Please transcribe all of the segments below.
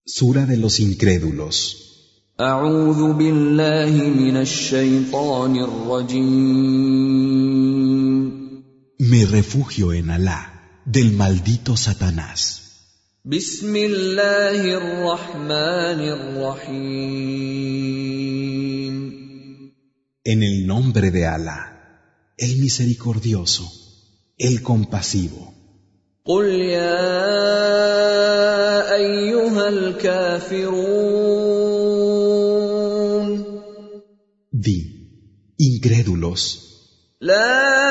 Sura de los incrédulos. أعوذ بالله من الشيطان الرجيم. Me refugio en Alá, del maldito Satanás. بسم الله الرحمن الرحيم. En el nombre de Alá, el misericordioso, el compasivo. قل يا أيها الكافرون. Di, incrédulos, لا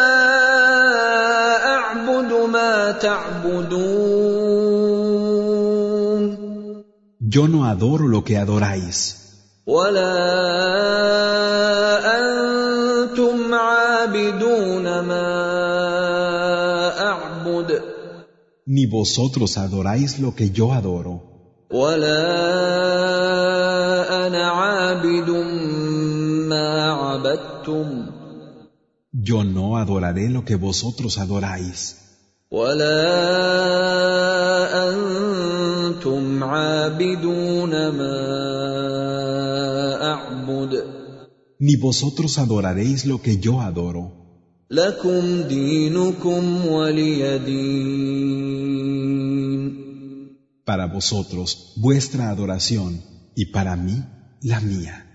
أعبد ما تعبدون. yo no adoro lo que adoráis, ولا أنتم عابدون ما أعبد. ni vosotros adoráis lo que yo adoro, ولا أنا عابد ما عبدتم. yo no adoraré lo que vosotros adoráis, ولا أنتم عابدون ما أعبد. ni vosotros adoraréis lo que yo adoro. لكم دينكم ولي دين. Para vosotros vuestra adoración y para mí la mía.